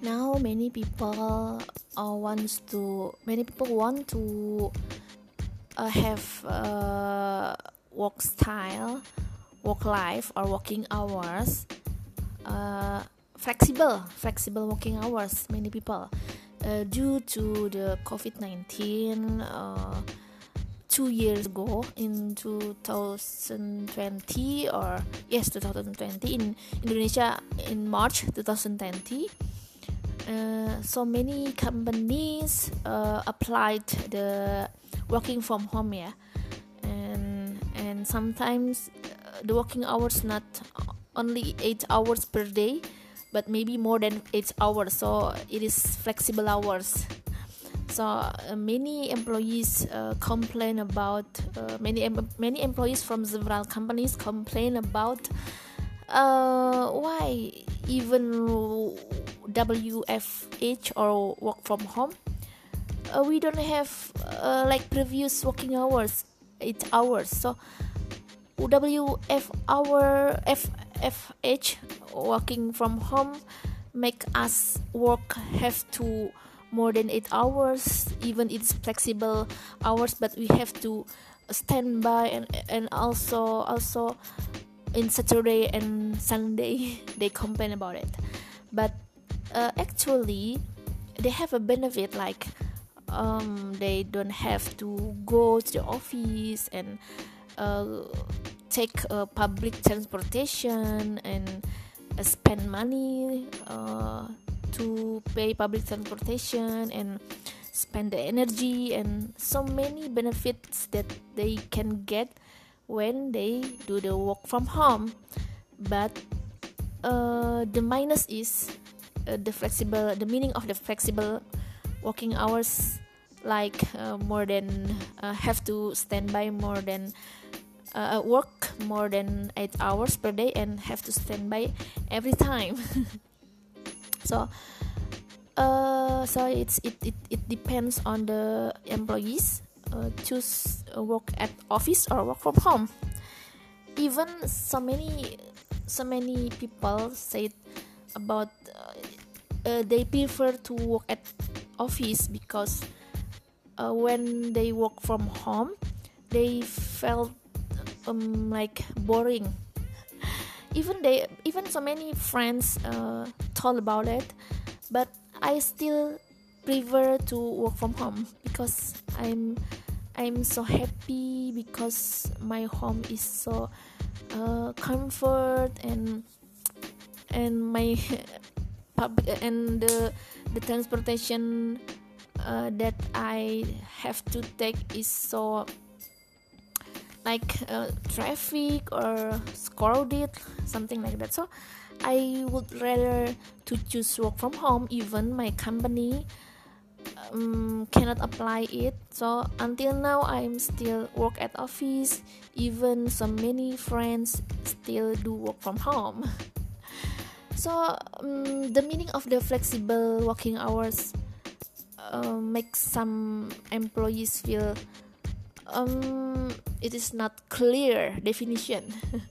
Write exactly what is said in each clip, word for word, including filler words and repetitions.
Now many people uh, wants to many people want to uh, have uh, work style, work life or working hours uh, flexible flexible working hours. Many people uh, due to the covid nineteen uh, two years ago in two thousand twenty, or yes two thousand twenty in Indonesia in March twenty twenty. Uh, so many companies uh, applied the working from home, yeah, and and sometimes uh, the working hours not only eight hours per day, but maybe more than eight hours. So it is flexible hours. So uh, many employees uh, complain about uh, many em- many employees from several companies complain about uh, why even W F H or work from home uh, we don't have uh, like previous working hours eight hours. So W F hour F F H working from home make us work have to more than eight hours, even it's flexible hours, but we have to stand by, and and also also in Saturday and Sunday they complain about it. But uh, actually they have a benefit, like um, they don't have to go to the office and uh, take uh, public transportation and uh, spend money uh, to pay public transportation and spend the energy, and so many benefits that they can get when they do the work from home. But uh, the minus is uh, the flexible the meaning of the flexible working hours, like uh, more than uh, have to stand by more than uh, work more than eight hours per day and have to stand by every time. so uh, so it's it, it, it depends on the employees uh, choose uh, work at office or work from home. Even so many so many people said about uh, uh, they prefer to work at office because uh, when they work from home they felt um, like boring. Even they even so many friends uh, told about it, but I still prefer to work from home because I'm I'm so happy because my home is so uh, comfort, and and my public and the the transportation uh, that I have to take is so like uh, traffic or crowded, something like that. So I would rather to choose work from home. Even my company um, cannot apply it, so until now I'm still work at office. Even so many friends still do work from home. So um, the meaning of the flexible working hours uh, makes some employees feel um, it is not clear definition.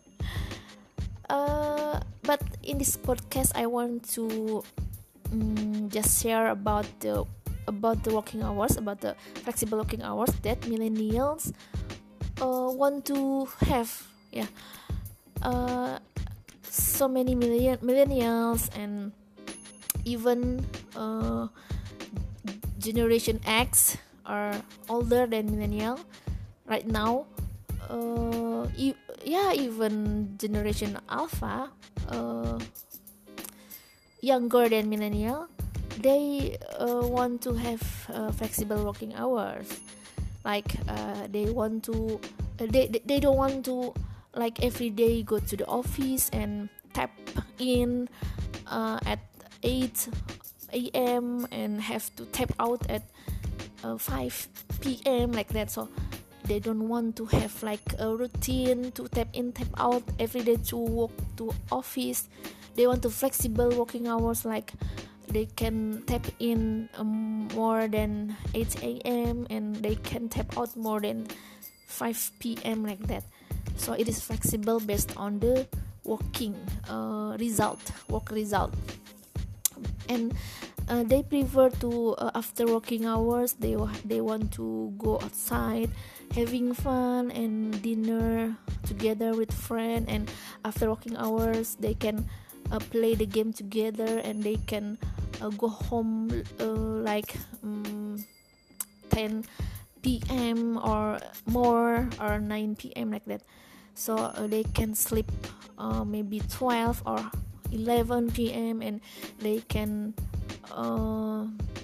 uh, but in this podcast I want to um, just share about the about the working hours, about the flexible working hours that millennials uh, want to have. Yeah, uh, so many million millennials and even uh, Generation X are older than millennial right now. Uh, e- yeah, even Generation Alpha, uh, younger than millennial, they uh, want to have uh, flexible working hours. Like uh, they want to, uh, they, they they don't want to like every day go to the office and tap in uh, at eight a.m. and have to tap out at uh, five p.m. like that. So they don't want to have like a routine to tap in tap out every day to work to office. They want to flexible working hours, like they can tap in um, more than eight a.m. and they can tap out more than five p.m. like that. So it is flexible based on the working uh, result work result. And uh, they prefer to uh, after working hours they they want to go outside having fun and dinner together with friend, and after working hours they can uh, play the game together, and they can uh, go home uh, like um, ten p.m. or more, or nine p.m. like that, so uh, they can sleep uh, maybe twelve or eleven p.m. and they can uh,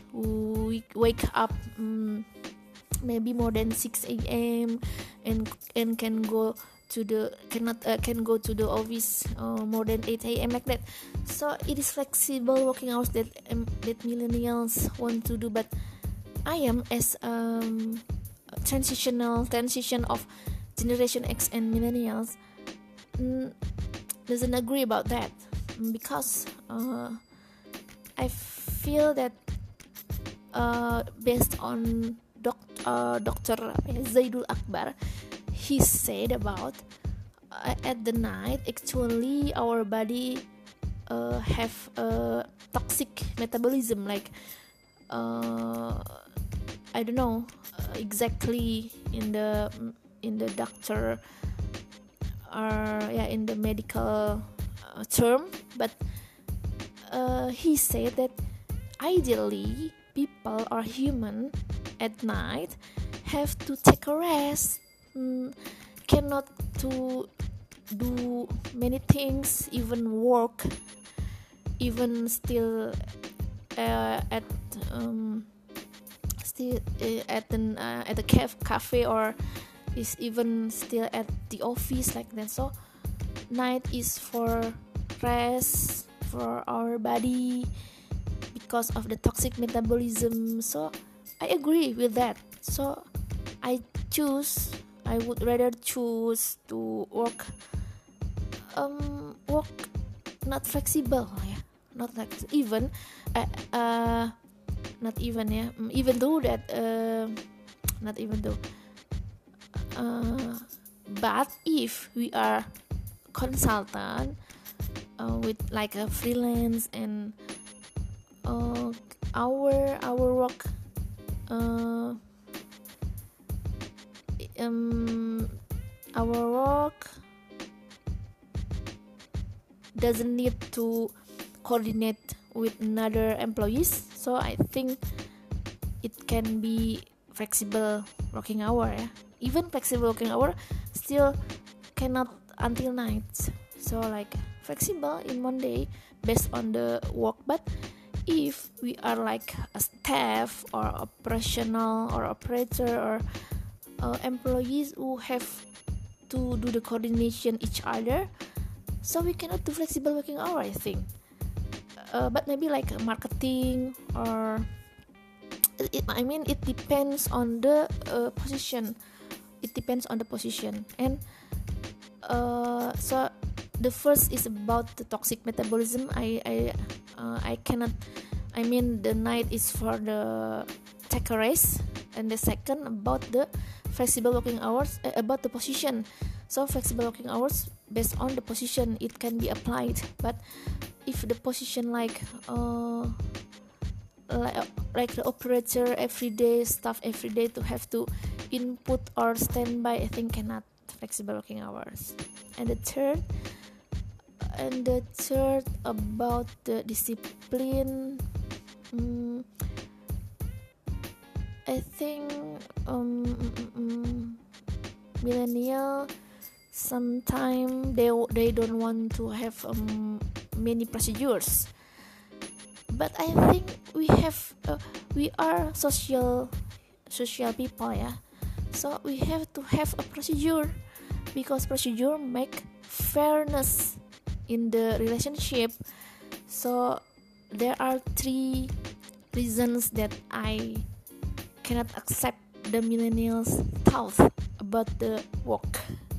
wake up um, maybe more than six a.m. and and can go to the cannot uh, can go to the office uh, more than eight a.m. like that. So it is flexible working hours that um, that millennials want to do, but I am as um transitional transition of Generation X and millennials mm, doesn't agree about that, because uh, I feel that uh, based on doc, uh, Doctor Zaidul Akbar, he said about uh, at the night actually our body uh, have a toxic metabolism, like uh, I don't know uh, exactly in the in the doctor or yeah in the medical uh, term, but uh, he said that ideally people or human at night have to take a rest, mm, cannot to do many things, even work, even still uh, at um, still uh, at an uh, at a caf- cafe or is even still at the office like that. So night is for rest for our body because of the toxic metabolism. So I agree with that. So I choose I would rather choose to work um work not flexible, yeah, not like even uh, uh not even yeah even though that uh, not even though uh, but if we are consultant uh, with like a freelance and uh, our our work uh, um our work doesn't need to coordinate with another employees, so I think it can be flexible working hour, yeah. Even flexible working hour still cannot until night, so like flexible in one day based on the work. But if we are like a staff or operational or operator or uh, employees who have to do the coordination each other, so we cannot do flexible working hour, I think. Uh, but maybe like marketing or it, I mean it depends on the uh, position. It depends on the position. And uh, so the first is about the toxic metabolism. I I uh, I cannot. I mean the night is for the take a rest, and the second about the flexible working hours uh, about the position. So flexible working hours based on the position it can be applied, but if the position like uh, like, like the operator every day, staff every day to have to input or standby, I think cannot flexible working hours. And the third and the third about the discipline, um, I think um, mm, mm, millennial sometimes they they don't want to have um, many procedures, but I think we have uh, we are social social people, yeah. So we have to have a procedure, because procedure make fairness in the relationship. So there are three reasons that I cannot accept the millennials' thoughts about the work.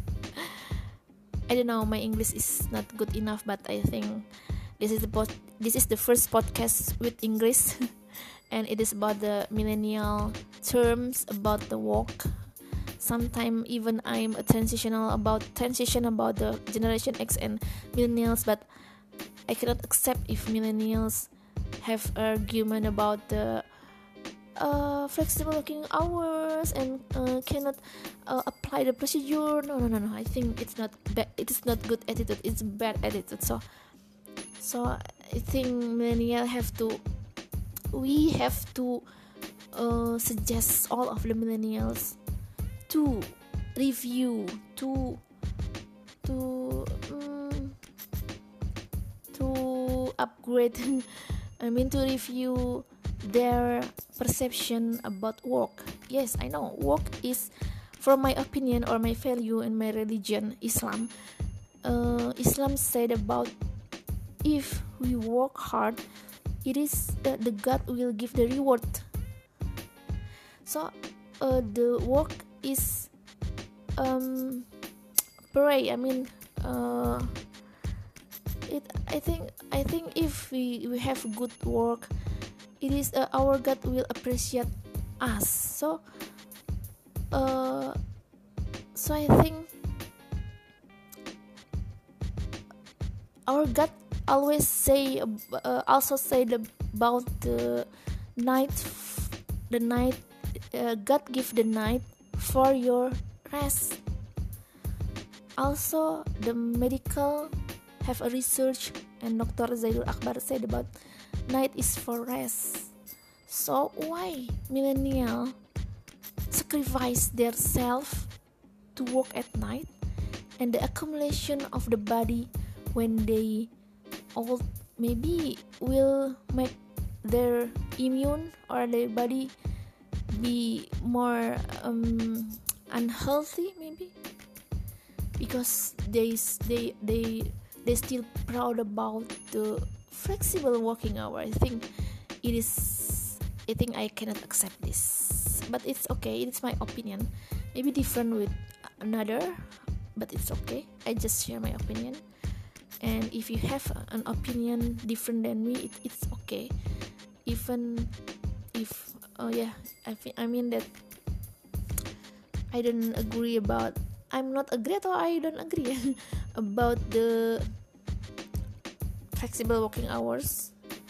I don't know, my English is not good enough, but I think this is the pod- this is the first podcast with English, and it is about the millennial terms about the work. Sometimes even I'm a transitional about transition about the Generation X and millennials, but I cannot accept if millennials have argument about the uh, flexible working hours and uh, cannot uh, apply the procedure. No, no, no, no. I think it's not bad. It is not good attitude. It's bad attitude. So, so I think millennial have to. We have to uh, suggest all of the millennials to review, to to um, to upgrade. I mean to review their perception about work. Yes, I know work is, from my opinion or my value in my religion, Islam. Uh, Islam said about if we work hard, it is uh, the God will give the reward. So uh, the work is um, pray. I mean, uh, it. I think. I think if we, we have good work, it is uh, our God will appreciate us. So, uh, so I think our God always say uh, also said about the night, the night. Uh, God give the night for your rest. Also, the medical have a research, and Doctor Zaidul Akbar said about night is for rest. So why millennial sacrifice their self to work at night, and the accumulation of the body when they old maybe will make their immune or their body be more um, unhealthy maybe, because they they they they still proud about the flexible working hour. I think it is I think I cannot accept this, but it's okay. It's my opinion, maybe different with another, but it's okay. I just share my opinion, and if you have an opinion different than me, it, it's okay. Even if oh yeah I, I mean that I don't agree about I'm not agree or I don't agree about the flexible working hours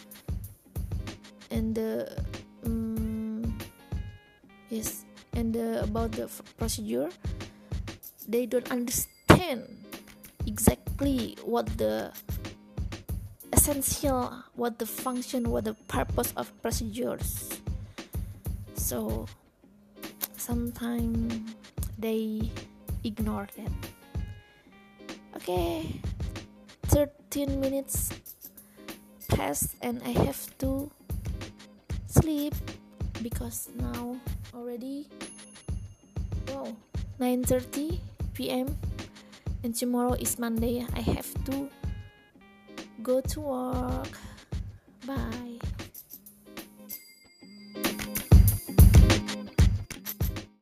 and the um, yes and the, about the f- procedure. They don't understand exactly what the essential, what the function, what the purpose of procedures. So sometimes they ignore that. Okay, thirteen minutes passed and I have to sleep because now already wow nine thirty p.m. and tomorrow is Monday. I have to go to work. Bye.